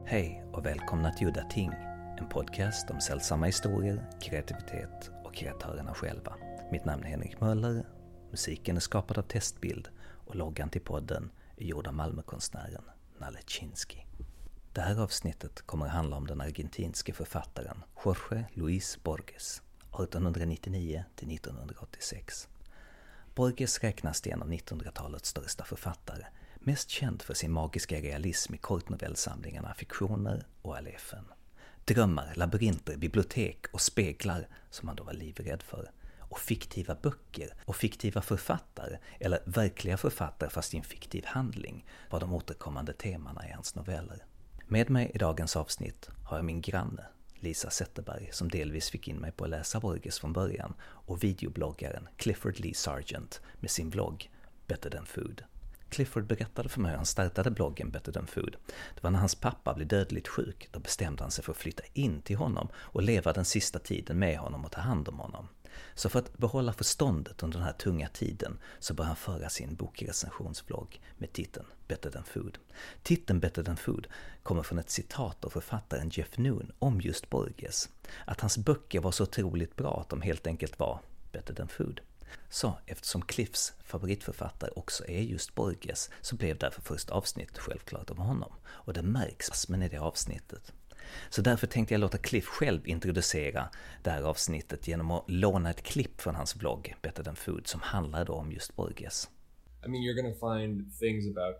Hej och välkomna till Udda Ting, en podcast om sällsamma historier, kreativitet och kreatörerna själva. Mitt namn är Henrik Möller, musiken är skapad av Testbild och loggan till podden är gjord av Malmökonstnären Nalle Chinsky. Det här avsnittet kommer att handla om den argentinske författaren Jorge Luis Borges, 1899-1986. Borges räknas till en av 1900-talets största författare, mest känd för sin magiska realism i kortnovellsamlingarna Fiktioner och Alephen. Drömmar, labyrinter, bibliotek och speglar som han då var livrädd för. Och fiktiva böcker och fiktiva författare, eller verkliga författare fast i en fiktiv handling, var de återkommande temana i hans noveller. Med mig i dagens avsnitt har jag min granne, Lisa Zetterberg, som delvis fick in mig på att läsa Borges från början, och videobloggaren Clifford Lee Sargent med sin vlogg Better Than Food. Clifford berättade för mig hur han startade bloggen Better Than Food. Det var när hans pappa blev dödligt sjuk. Då bestämde han sig för att flytta in till honom och leva den sista tiden med honom och ta hand om honom. Så för att behålla förståndet under den här tunga tiden så började han föra sin bokrecensionsvlogg med titeln Better Than Food. Titeln Better Than Food kommer från ett citat av författaren Jeff Noon om just Borges. Att hans böcker var så otroligt bra att de helt enkelt var Better Than Food. Så eftersom Cliffs favoritförfattare också är just Borges så blev därför första avsnittet självklart om honom. Och det märks men i det avsnittet. Så därför tänkte jag låta Cliff själv introducera det här avsnittet genom att låna ett klipp från hans vlogg Better Than Food som handlar då om just Borges. I mean, you're going to find things about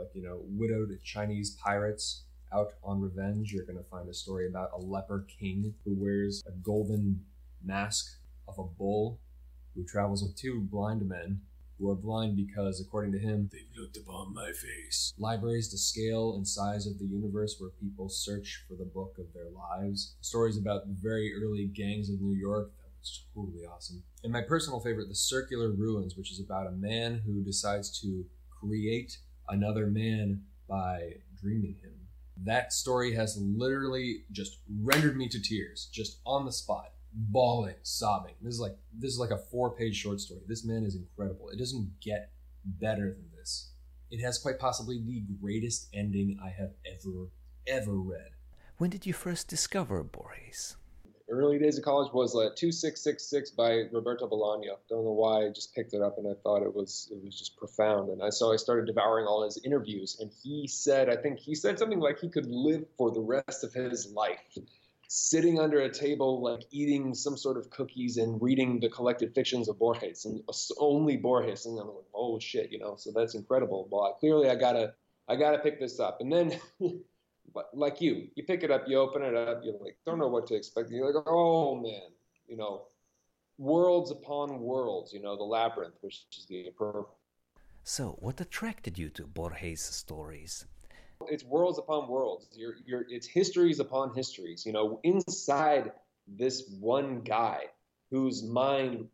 widowed Chinese pirates out on revenge. You're going to find a story about a leper king who wears a golden mask of a bull, who travels with two blind men who are blind because, according to him, they've looked upon my face. Libraries to scale and size of the universe where people search for the book of their lives. Stories about the very early gangs of New York. That was totally awesome. And my personal favorite, The Circular Ruins, which is about a man who decides to create another man by dreaming him. That story has literally just rendered me to tears, just on the spot. Bawling, sobbing. This is like a 4-page short story. This man is incredible. It doesn't get better than this. It has quite possibly the greatest ending I have ever read. When did you first discover Borges? Early days of college was 2666 by Roberto Bolaño. Don't know why, I just picked it up and I thought it was just profound. And so I started devouring all his interviews. And he said something like he could live for the rest of his life sitting under a table, eating some sort of cookies and reading the collected fictions of Borges, and only Borges. And I'm like, oh shit, so that's incredible. Well, clearly I gotta pick this up. And then, like you pick it up, you open it up, you're like, don't know what to expect. You're like, oh man, worlds upon worlds, the labyrinth, which is the appropriate. So, what attracted you to Borges' stories? It's worlds upon worlds. It's histories upon histories. Inside this one guy whose mind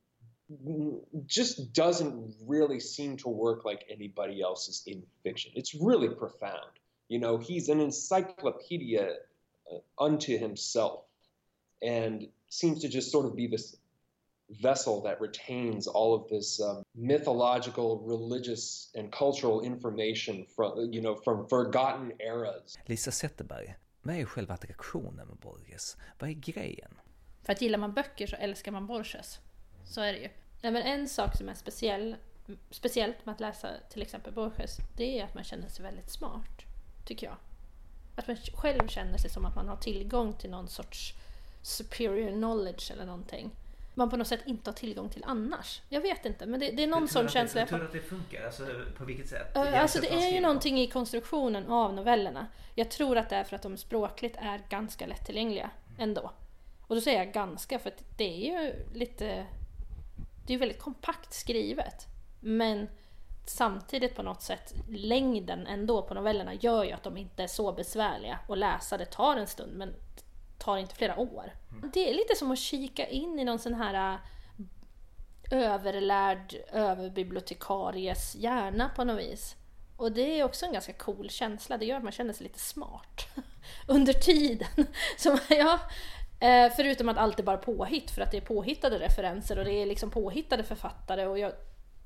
just doesn't really seem to work like anybody else's in fiction. It's really profound. He's an encyclopedia unto himself, and seems to just sort of be this vessel that retains all of this mythological, religious and cultural information from forgotten eras. Lisa Zetterberg, vad är själva attraktionen med Borges? Vad är grejen? För att gillar man böcker så älskar man Borges. Så är det ju. Nej, men en sak som är speciellt med att läsa till exempel Borges, det är att man känner sig väldigt smart, tycker jag. Att man själv känner sig som att man har tillgång till någon sorts superior knowledge eller någonting. Man på något sätt inte har tillgång till annars. Jag vet inte, men det är någon sån känsla. Jag tror att det funkar, alltså på vilket sätt? Alltså det är ju någonting i konstruktionen av novellerna. Jag tror att det är för att de språkligt är ganska lättillgängliga ändå. Och då säger jag ganska, för att det är ju lite... Det är väldigt kompakt skrivet. Men samtidigt på något sätt, längden ändå på novellerna gör ju att de inte är så besvärliga att läsa. Det tar en stund, men tar inte flera år. Det är lite som att kika in i någon sån här överlärd överbibliotekaries hjärna på något vis. Och det är också en ganska cool känsla. Det gör att man känner sig lite smart under tiden. Så förutom att allt är bara påhitt, för att det är påhittade referenser och det är liksom påhittade författare. Och jag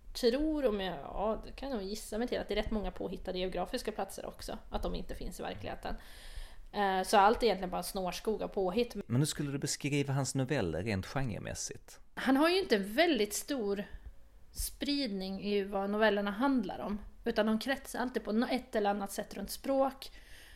tror, det kan jag nog gissa mig till, att det är rätt många påhittade geografiska platser också. Att de inte finns i verkligheten. Så allt är egentligen bara snårskog av påhitt. Men hur skulle du beskriva hans noveller rent genremässigt? Han har ju inte väldigt stor spridning i vad novellerna handlar om. Utan de kretsar alltid på ett eller annat sätt runt språk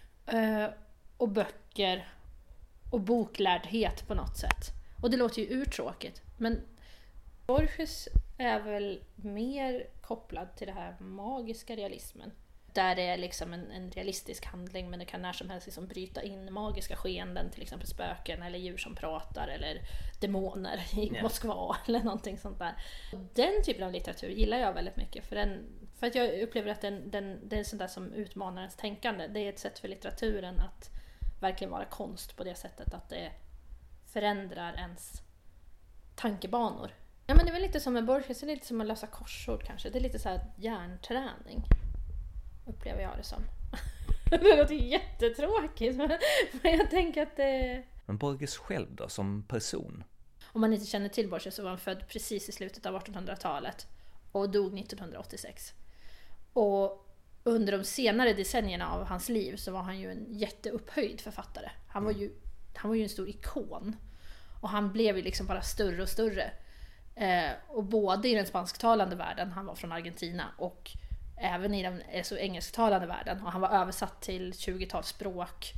och böcker och boklärdhet på något sätt. Och det låter ju urtråkigt. Men Borges är väl mer kopplad till det här magiska realismen. Där det är liksom en realistisk handling, men det kan när som helst liksom bryta in magiska skeenden, till exempel spöken eller djur som pratar eller demoner i Moskva eller någonting sånt där. Den typen av litteratur gillar jag väldigt mycket, för att jag upplever att det är sånt där som utmanar ens tänkande. Det är ett sätt för litteraturen att verkligen vara konst på det sättet att det förändrar ens tankebanor. Ja, men det är väl lite som med Borges, det är lite som att lösa korsord kanske. Det är lite så här hjärnträning, upplever jag det som. Det låter jättetråkigt, men jag tänker att det... Men Borges själv då, som person? Om man inte känner till Borges så var han född precis i slutet av 1800-talet och dog 1986. Och under de senare decennierna av hans liv så var han ju en jätteupphöjd författare. Han var ju en stor ikon. Och han blev ju liksom bara större och större. Och både i den spansktalande världen, han var från Argentina, och även i den engelsktalande världen. Och han var översatt till 20-tal språk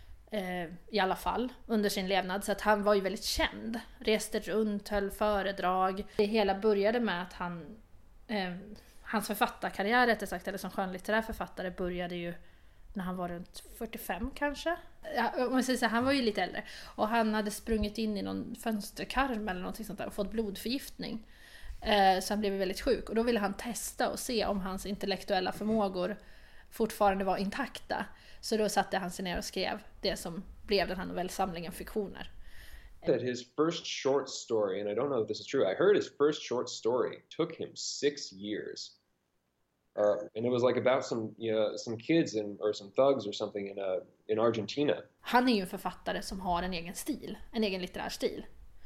i alla fall under sin levnad. Så att han var ju väldigt känd. Reste runt, höll föredrag. Det hela började med att hans författarkarriär, rättare sagt, eller som skönlitterär författare, började ju när han var runt 45 kanske. Ja, om man säger så, han var ju lite äldre. Och han hade sprungit in i någon fönsterkarm eller någonting sånt där och fått blodförgiftning. Så han blev väldigt sjuk. Och då ville han testa och se om hans intellektuella förmågor fortfarande var intakta. Så då satte han sig ner och skrev det som blev den här novellsamlingen Fiktioner. That his first short story, and I don't know if this is true, I heard his first short story took him 6 years. And it was like about some kids or some thugs or something in Argentina. Han är ju en författare som har en egen stil, en egen litterär stil.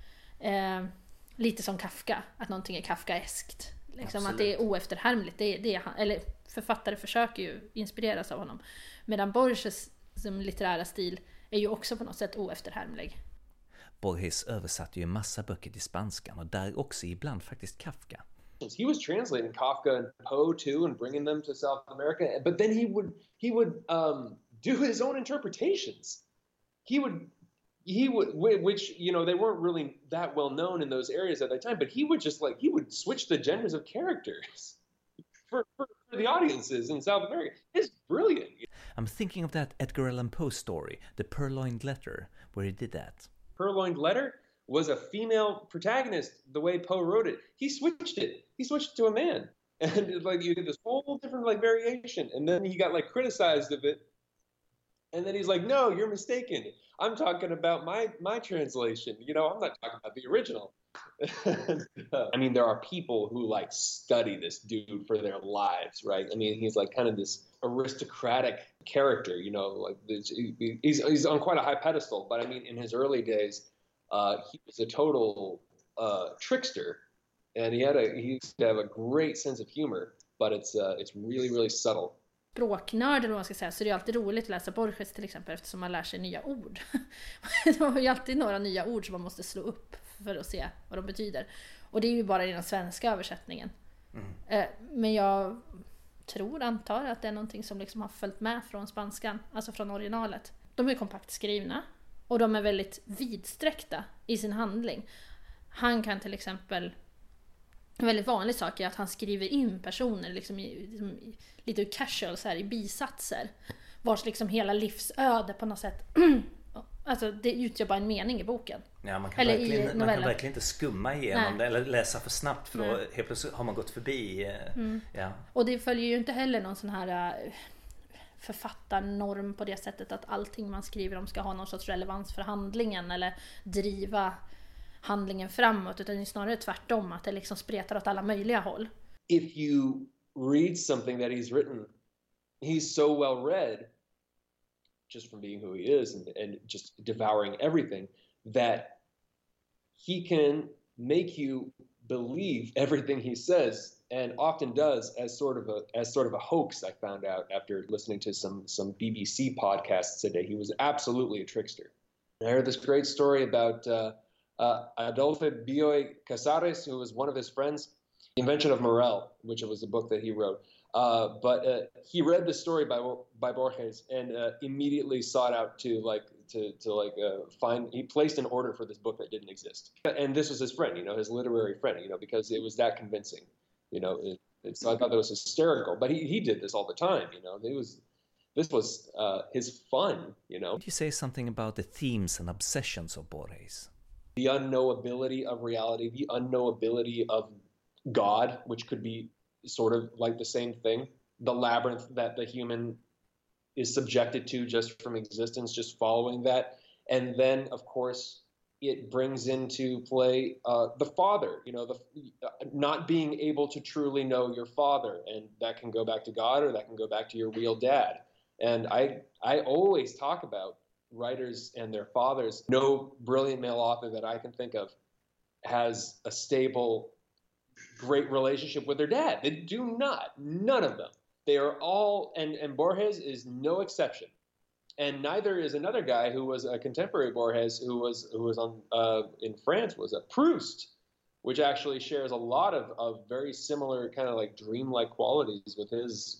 Lite som Kafka, att någonting är kafkaeskt. Liksom att det är oefterhärmligt. Eller författare försöker ju inspireras av honom. Medan Borges som litterära stil är ju också på något sätt oefterhärmlig. Borges översatte ju en massa böcker till spanskan och där också ibland faktiskt Kafka. He was translating Kafka and Poe too and bringing them to South America, but then he would do his own interpretations. He would, which, you know, they weren't really that well known in those areas at that time, but he would switch the genders of characters for the audiences in South America. It's brilliant. I'm thinking of that Edgar Allan Poe story, The Purloined Letter, where he did that. Purloined Letter was a female protagonist the way Poe wrote it. He switched it. He switched it to a man. And you did this whole different variation. And then he got criticized of it. And then he's like, no, you're mistaken. I'm talking about my translation. You know, I'm not talking about the original. I mean, there are people who study this dude for their lives, right? I mean, he's kind of this aristocratic character, you know, he's on quite a high pedestal. But I mean, in his early days, he was a total trickster, and he used to have a great sense of humor, but it's really, really subtle. Språknörd, eller vad man ska säga, så det är alltid roligt att läsa Borges till exempel, eftersom man lär sig nya ord. Det har ju alltid några nya ord som man måste slå upp för att se vad de betyder. Och det är ju bara i den svenska översättningen. Men jag antar att det är någonting som har följt med från spanskan, alltså från originalet. De är kompakt skrivna och de är väldigt vidsträckta i sin handling. Han kan till exempel, en väldigt vanlig sak är att han skriver in personer lite casual så här, i bisatser, vars hela livsöde på något sätt alltså det utgör bara en mening i boken. Ja, man kan verkligen inte skumma igenom det eller läsa för snabbt, för då helt plötsligt har man gått förbi. Ja. Och det följer ju inte heller någon sån här författarnorm på det sättet att allting man skriver om ska ha någon sorts relevans för handlingen eller driva handlingen framåt, utan det är snarare tvärtom, att det spretar åt alla möjliga håll. If you read something that he's written, he's so well read, just from being who he is and just devouring everything, that he can make you believe everything he says and often does as sort of a hoax. I found out after listening to some BBC podcasts today. He was absolutely a trickster. I heard this great story about Adolfo Bioy Casares, who was one of his friends. The Invention of Morel, which was a book that he wrote. But he read the story by Borges and immediately sought out to find. He placed an order for this book that didn't exist, and this was his friend, his literary friend, because it was that convincing, So I thought that was hysterical. But he did this all the time, This was his fun, Could you say something about the themes and obsessions of Borges? The unknowability of reality, the unknowability of God, which could be sort of like the same thing, the labyrinth that the human is subjected to just from existence, just following that. And then, of course, it brings into play the father, not being able to truly know your father. And that can go back to God, or that can go back to your real dad. And I always talk about writers and their fathers. No brilliant male author that I can think of has a stable, great relationship with their dad. They do not. None of them. They are all, and Borges is no exception. And neither is another guy who was a contemporary Borges who was on in France, was a Proust, which actually shares a lot of very similar kind of like dreamlike qualities with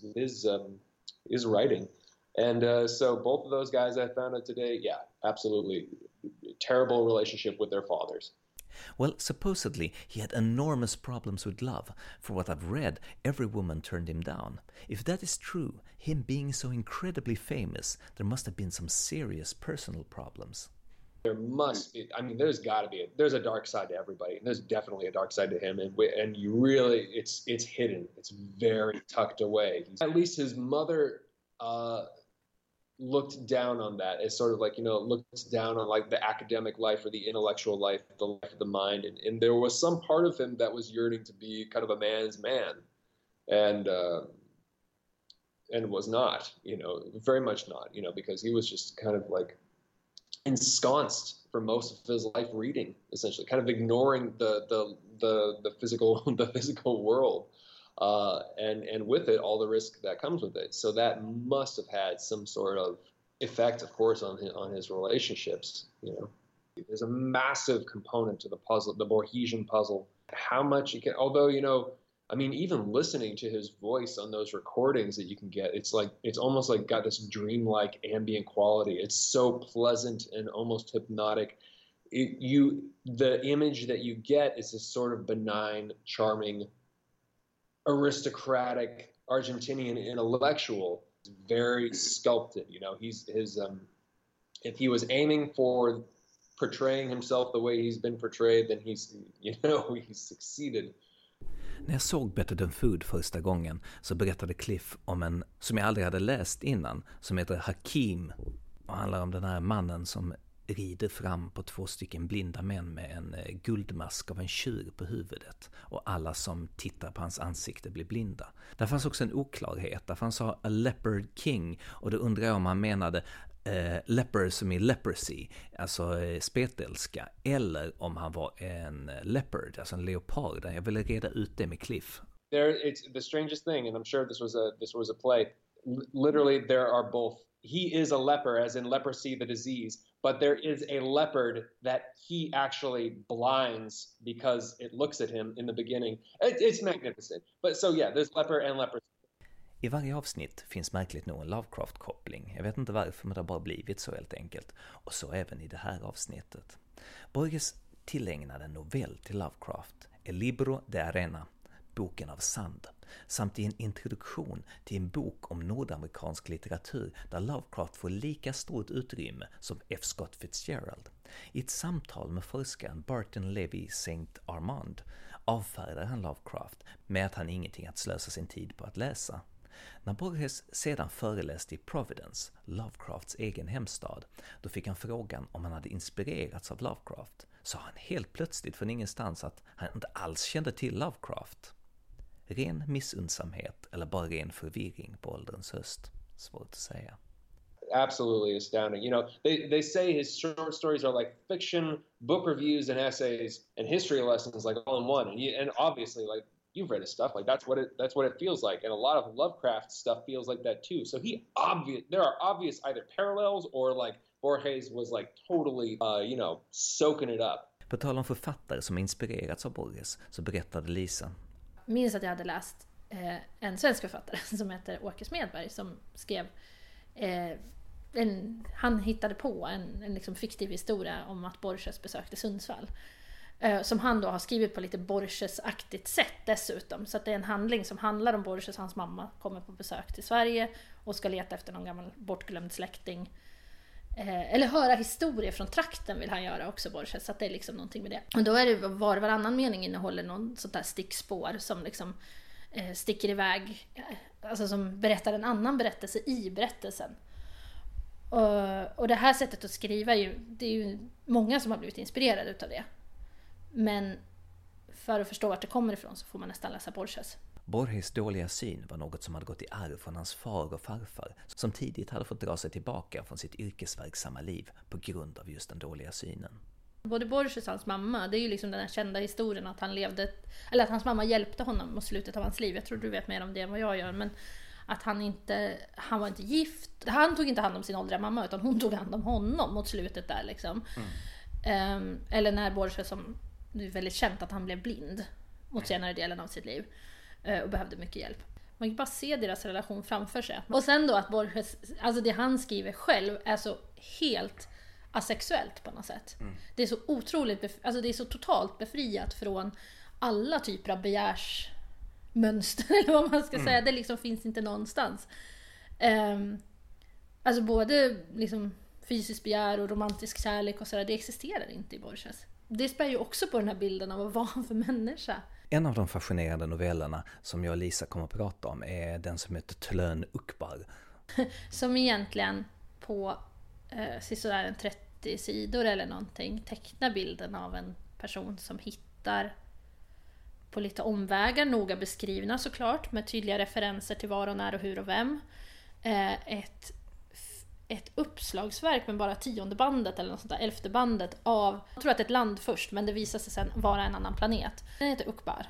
his writing. And so both of those guys I found out today, yeah, absolutely terrible relationship with their fathers. Well, supposedly he had enormous problems with love. For what I've read, every woman turned him down. If that is true, him being so incredibly famous, there must have been some serious personal problems. There must be. I mean, there's got to be. There's a dark side to everybody. And there's definitely a dark side to him. And you really, it's hidden. It's very tucked away. At least his mother looked down on that as sort of like, looked down on like the academic life or the intellectual life, the life of the mind. And there was some part of him that was yearning to be kind of a man's man, and was not, very much not, because he was just kind of like ensconced for most of his life reading, essentially, kind of ignoring the physical world. And with it, all the risk that comes with it. So that must have had some sort of effect, of course, on his relationships. There's a massive component to the puzzle, the Borgesian puzzle. How much you can, although even listening to his voice on those recordings that you can get, it's almost like got this dreamlike ambient quality. It's so pleasant and almost hypnotic. The image that you get is this sort of benign, charming, aristocratic Argentinian intellectual, very sculpted. If he was aiming for portraying himself the way he's been portrayed, then he's succeeded. När jag såg Better Than Food första gången så berättade Cliff om en som jag aldrig hade läst innan, som heter Hakim, och handlar om den här mannen som rider fram på 2 stycken blinda män med en guldmask av en tjur på huvudet, och alla som tittar på hans ansikte blir blinda. Där fanns också en oklarhet, där han sa a leopard king, och då undrar jag om han menade leper som i leprosy, alltså spetälska, eller om han var en leopard, alltså en leopard. Jag ville reda ut det med Cliff. It's the strangest thing, and I'm sure this was a play. Literally, there are both. He is a leper, as in leprosy, the disease, but there is a leopard that he actually blinds because it looks at him in the beginning. It's magnificent. But so yeah, there's leper and leprosy. I varje avsnitt finns märkligt nog en Lovecraft-koppling. Jag vet inte varför, men det har bara blivit så helt enkelt. Och så även i det här avsnittet. Borges tillägnade en novell till Lovecraft, El Libro de Arena, boken av sand, samt i en introduktion till en bok om nordamerikansk litteratur där Lovecraft får lika stort utrymme som F. Scott Fitzgerald. I ett samtal med forskaren Barton Levy St. Armand avfärdar han Lovecraft med att han ingenting att slösa sin tid på att läsa. När Borges sedan föreläste i Providence, Lovecrafts egen hemstad, då fick han frågan om han hade inspirerats av Lovecraft. Sa han helt plötsligt från ingenstans att han inte alls kände till Lovecraft. Ren missundsamhet eller bara ren förvirring på ålderns höst? Svårt att säga. Absolutely astounding. They say his short stories are like fiction, book reviews and essays, and history lessons like all in one. And obviously, like, you've read his stuff. Like that's what it feels like, and a lot of Lovecraft stuff feels like that too. So there are obvious either parallels or like Borges was like totally, soaking it up. På tal om författare som inspirerats av Borges så berättade Lisa. Minns att jag hade läst en svensk författare som heter Åke Smedberg som skrev han hittade på en liksom fiktiv historia om att Borges besökte Sundsvall. Som han då har skrivit på lite Borges-aktigt sätt dessutom. Så att det är en handling som handlar om Borges. Hans mamma kommer på besök till Sverige och ska leta efter någon gammal bortglömd släkting. Eller höra historier från trakten vill han göra också, Borges. Så att det är liksom någonting med det. Och då är det varannan mening innehåller någon sånt där stickspår som liksom sticker iväg. Alltså som berättar en annan berättelse i berättelsen. Och det här sättet att skriva det är ju många som har blivit inspirerade utav det. Men för att förstå vart det kommer ifrån så får man nästan läsa Borges. Borges dåliga syn var något som hade gått i arv från hans far och farfar som tidigt hade fått dra sig tillbaka från sitt yrkesverksamma liv på grund av just den dåliga synen. Både Borges och hans mamma, det är ju liksom den här kända historien att att hans mamma hjälpte honom mot slutet av hans liv. Jag tror du vet mer om det än vad jag gör, men att han var inte gift. Han tog inte hand om sin åldriga mamma utan hon tog hand om honom mot slutet där liksom. Eller när Borges, som det är väldigt känt att han blev blind mot senare delen av sitt liv och behövde mycket hjälp. Man kan bara se deras relation framför sig. Och sen då att Borges, alltså det han skriver själv är så helt asexuellt på något sätt. Det är så otroligt, det är så totalt befriat från alla typer av begärsmönster eller vad man ska säga. Det liksom finns inte någonstans. Alltså både liksom fysiskt begär och romantisk kärlek och sådär, det existerar inte i Borges. Det spär ju också på den här bilden av vad var han för människa. En av de fascinerande novellerna som jag och Lisa kommer att prata om är den som heter Tlön Uqbar. Som egentligen på sådär en 30 sidor eller någonting tecknar bilden av en person som hittar på lite omvägar, noga beskrivna såklart, med tydliga referenser till var och när och hur och vem. Ett uppslagsverk med bara 10:e bandet eller något sånt där, 11:e bandet av, jag tror att ett land först, men det visar sig sen vara en annan planet. Den heter Uqbar.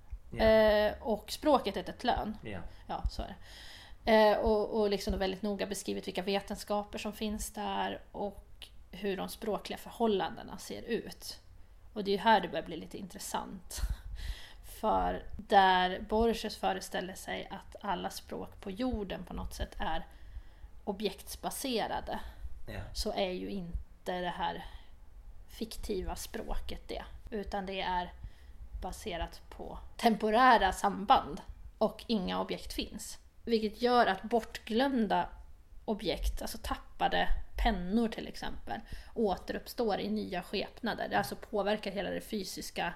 Och språket heter Tlön. Ja, så är det. Och liksom väldigt noga beskrivet vilka vetenskaper som finns där och hur de språkliga förhållandena ser ut. Och det är ju här det börjar bli lite intressant. För där Borges föreställer sig att alla språk på jorden på något sätt är objektsbaserade, så är ju inte det här fiktiva språket det, utan det är baserat på temporära samband och inga objekt finns. Vilket gör att bortglömda objekt, alltså tappade pennor till exempel, återuppstår i nya skepnader. Det alltså påverkar hela det fysiska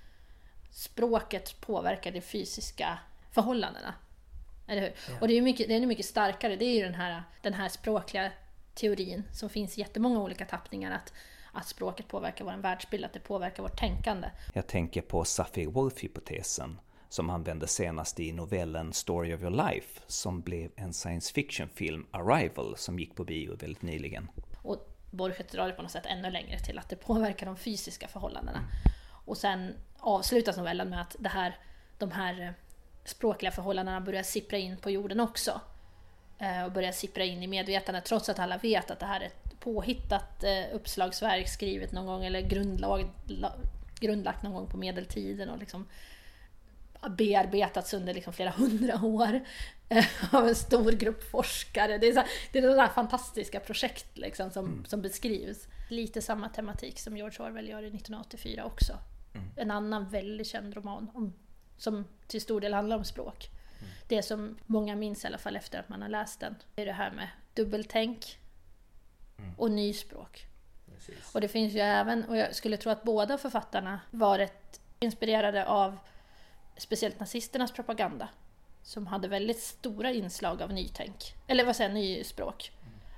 språket, påverkar de fysiska förhållandena. Eller hur? Ja. Och det är mycket starkare. Det är ju den här språkliga teorin som finns i jättemånga olika tappningar, att språket påverkar vår världsbild, att det påverkar vårt tänkande. Jag tänker på Sapir-Whorf-hypotesen som användes senast i novellen Story of Your Life, som blev en science fiction-film, Arrival, som gick på bio väldigt nyligen. Och Borges drar det på något sätt ännu längre till att det påverkar de fysiska förhållandena. Och sen avslutas novellen med att de här språkliga förhållandena börjar sippra in på jorden också. Och börjar sippra in i medvetandet, trots att alla vet att det här är ett påhittat uppslagsverk skrivet någon gång, eller grundlagt någon gång på medeltiden och liksom bearbetats under liksom flera 100 år av en stor grupp forskare. Det är sådana fantastiska projekt liksom som beskrivs. Lite samma tematik som George Orwell gör i 1984 också. En annan väldigt känd roman som till stor del handlar om språk. Det som många minns i alla fall efter att man har läst den är det här med dubbeltänk och nyspråk. Och det finns ju även, och jag skulle tro att båda författarna varit inspirerade av speciellt nazisternas propaganda, som hade väldigt stora inslag av nytänk, eller vad säger nyspråk.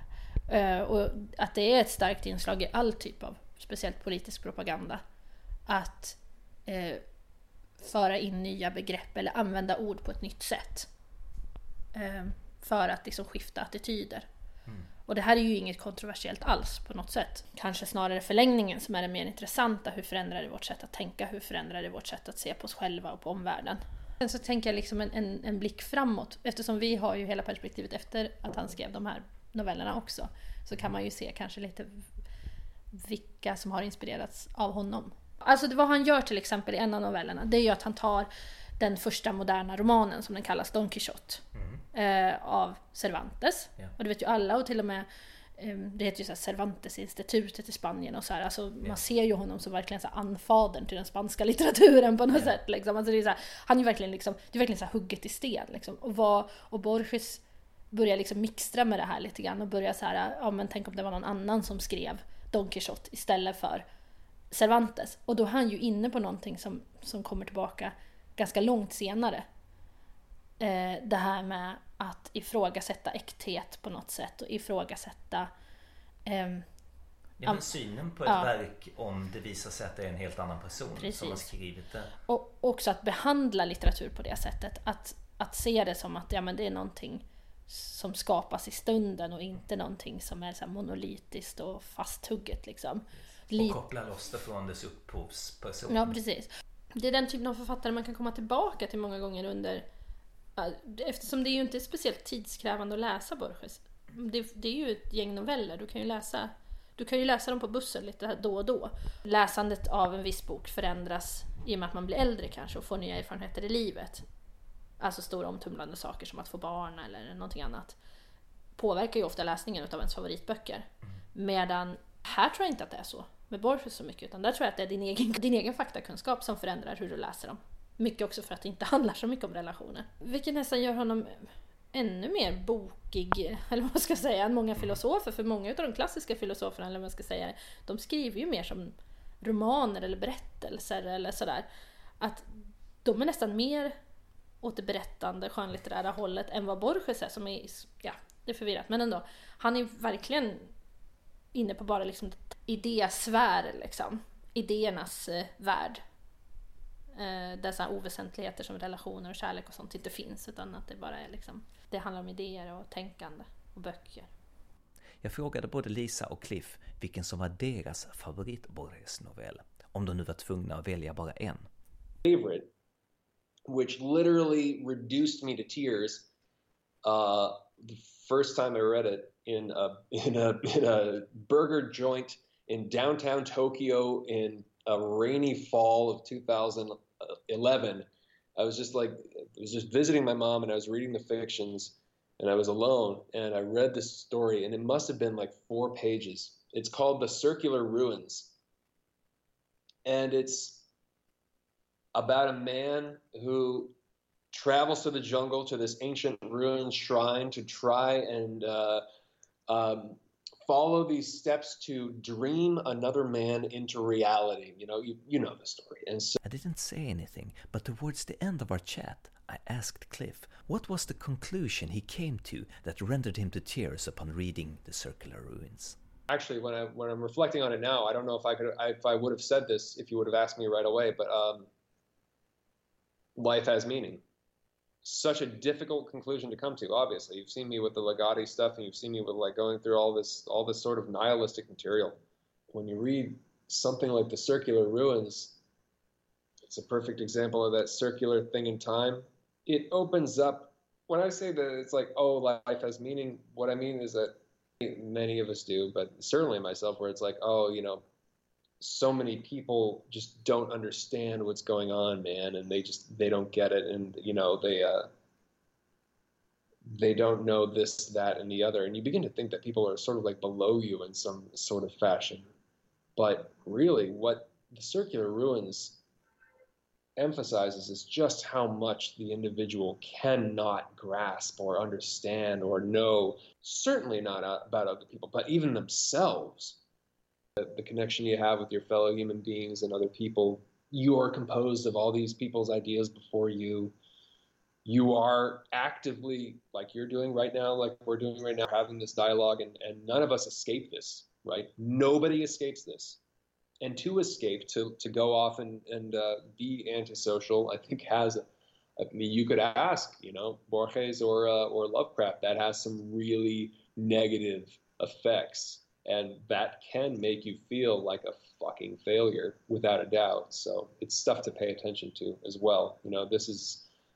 Och att det är ett starkt inslag i all typ av speciellt politisk propaganda att föra in nya begrepp eller använda ord på ett nytt sätt för att liksom skifta attityder. Och det här är ju inget kontroversiellt alls på något sätt. Kanske snarare förlängningen som är det mer intressanta. Hur förändrar det vårt sätt att tänka? Hur förändrar det vårt sätt att se på oss själva och på omvärlden? Sen så tänker jag liksom en blick framåt. Eftersom vi har ju hela perspektivet efter att han skrev de här novellerna också. Så kan man ju se kanske lite vilka som har inspirerats av honom. Alltså vad han gör till exempel i en av novellerna, det är ju att han tar den första moderna romanen som den kallas, Don Quixote, av Cervantes. Ja. Och det vet ju alla, och till och med det heter ju så här Cervantes-institutet i Spanien och så här. Alltså man ser ju honom som verkligen så här anfadern till den spanska litteraturen på något sätt liksom. Alltså det är så här, han är ju verkligen liksom, det är verkligen så här hugget i sten liksom. Och Borges börjar liksom mixtra med det här lite grann och börjar så här, ja men tänk om det var någon annan som skrev Don Quixote istället för Cervantes. Och då är han ju inne på någonting som kommer tillbaka ganska långt senare. Det här med att ifrågasätta äkthet på något sätt och ifrågasätta men synen på ett verk om det visar sig att det är en helt annan person som har skrivit det. Och också att behandla litteratur på det sättet. Att se det som att men det är någonting som skapas i stunden och inte någonting som är så här monolitiskt och fasthugget liksom. Och koppla loss det från dess upphovsperson. Ja, precis. Det är den typen av författare man kan komma tillbaka till många gånger under, eftersom det är ju inte speciellt tidskrävande att läsa Borges. Det är ju ett gäng noveller. Du kan ju läsa dem på bussen lite då och då. Läsandet av en viss bok förändras i och med att man blir äldre kanske och får nya erfarenheter i livet. Alltså stora omtumlande saker som att få barn eller någonting annat påverkar ju ofta läsningen av ens favoritböcker. Medan här tror jag inte att det är så med Borges så mycket, utan där tror jag att det är din egen faktakunskap som förändrar hur du läser dem. Mycket också för att det inte handlar så mycket om relationer. Vilket nästan gör honom ännu mer bokig, eller vad man ska säga, än många filosofer. För många av de klassiska filosoferna, eller vad man ska säga, de skriver ju mer som romaner eller berättelser eller sådär. Att de är nästan mer åt det berättande, skönlitterära hållet än vad Borges är, som är, det är förvirrat. Men ändå, han är verkligen inne på bara liksom idésfär, liksom. Idéernas värld. Dessa oväsentligheter som relationer och kärlek och sånt inte finns, utan att det bara är liksom, det handlar om idéer och tänkande och böcker. Jag frågade både Lisa och Cliff vilken som var deras favorit Borges-novell, om de nu var tvungna att välja bara en. Favorite, which literally reduced me to tears the first time I read it in a burger joint in downtown Tokyo in a rainy fall of 2011. I was just visiting my mom, and I was reading the fictions, and I was alone, and I read this story, and it must have been like 4 pages. It's called The Circular Ruins, and it's about a man who travels to the jungle to this ancient ruined shrine to try and follow these steps to dream another man into reality. You know the story. And so I didn't say anything, but towards the end of our chat, I asked Cliff what was the conclusion he came to that rendered him to tears upon reading The Circular Ruins. Actually, when I'm reflecting on it now, I don't know if I would have said this if you would have asked me right away, but life has meaning. Such a difficult conclusion to come to. Obviously, you've seen me with the Ligotti stuff, and you've seen me with like going through all this sort of nihilistic material. When you read something like The Circular Ruins, it's a perfect example of that circular thing in time. It opens up. When I say that it's like, oh, life has meaning, what I mean is that many of us do, but certainly myself, where it's like, oh, so many people just don't understand what's going on, man, and they don't get it, and they don't know this, that, and the other, and you begin to think that people are sort of like below you in some sort of fashion. But really, what The Circular Ruins emphasizes is just how much the individual cannot grasp or understand or know, certainly not about other people, but even themselves. The connection you have with your fellow human beings and other people. You are composed of all these people's ideas before you. You are actively, like you're doing right now, like we're doing right now, having this dialogue, and none of us escape this, right? Nobody escapes this. And to escape, to go off and be antisocial, I think you could ask, Borges or Lovecraft, that has some really negative effects. And that can make you feel like a fucking failure, without a doubt. So it's stuff to pay attention to as well. This is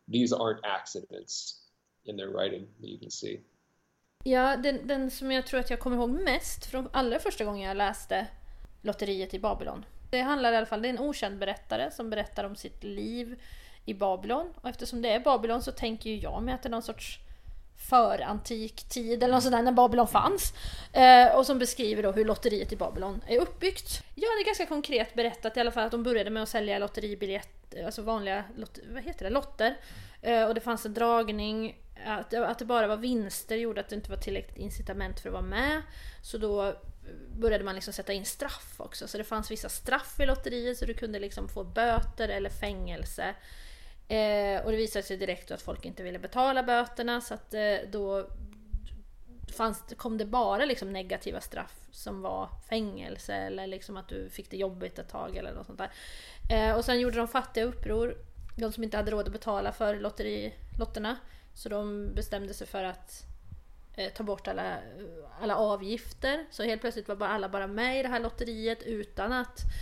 these aren't accidents in their writing that you can see. Ja, den som jag tror att jag kommer ihåg mest från allra första gången jag läste Lotteriet i Babylon. Det handlar i alla fall, det är en okänd berättare som berättar om sitt liv i Babylon. Och eftersom det är Babylon så tänker ju jag mig att det är någon sorts förantik tid eller något sådär när Babylon fanns. Och som beskriver då hur Lotteriet i Babylon är uppbyggt. Ja, det är ganska konkret berättat i alla fall att de började med att sälja lotteribiljetter, alltså vanliga lotter. Och det fanns en dragning, att det bara var vinster gjorde att det inte var tillräckligt incitament för att vara med. Så då började man liksom sätta in straff också. Så det fanns vissa straff i lotteriet så du kunde liksom få böter eller fängelse. Och det visade sig direkt att folk inte ville betala böterna, så att då kom det bara liksom negativa straff som var fängelse eller liksom att du fick det jobbigt ett tag eller något sånt där. Och sen gjorde de fattiga uppror, de som inte hade råd att betala för lotterna, så de bestämde sig för att ta bort alla avgifter. Så helt plötsligt var alla bara med i det här lotteriet utan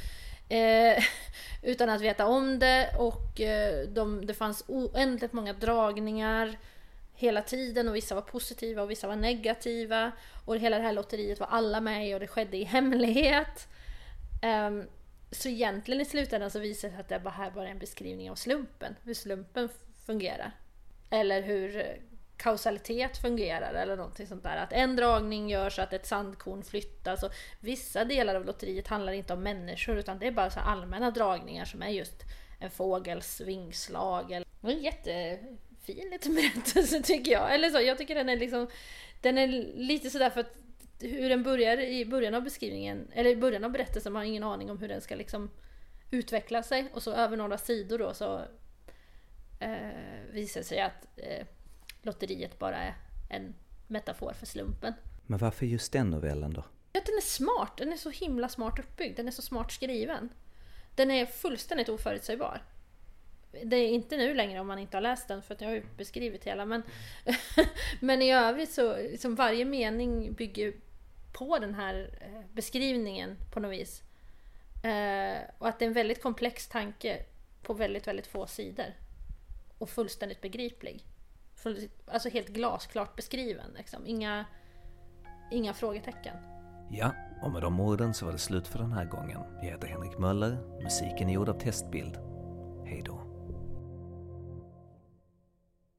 att veta om det, och det fanns oändligt många dragningar hela tiden, och vissa var positiva och vissa var negativa, och hela det här lotteriet var alla med och det skedde i hemlighet. Så egentligen i slutändan så visar det sig att det här bara är en beskrivning av slumpen, hur slumpen fungerar, eller hur kausalitet fungerar eller någonting sånt där. Att en dragning gör så att ett sandkorn flyttas, och vissa delar av lotteriet handlar inte om människor utan det är bara så allmänna dragningar som är just en fågels vingslag. Det är en jättefin liten berättelse tycker jag. Eller så, jag tycker den är lite sådär, för att hur den börjar i början av beskrivningen, eller i början av berättelsen, man har ingen aning om hur den ska liksom utveckla sig, och så över några sidor då så visar sig att lotteriet bara är en metafor för slumpen. Men varför just den novellen då? Ja, den är smart. Den är så himla smart uppbyggd. Den är så smart skriven. Den är fullständigt oförutsägbar. Det är inte nu längre om man inte har läst den, för att jag har ju beskrivit hela. Men i övrigt så liksom varje mening bygger på den här beskrivningen på något vis. Och att det är en väldigt komplex tanke på väldigt, väldigt få sidor. Och fullständigt begriplig. Alltså helt glasklart beskriven liksom. Inga frågetecken. Ja, och med de orden så var det slut för den här gången. Jag heter Henrik Möller, musiken är gjord av Testbild. Hej då.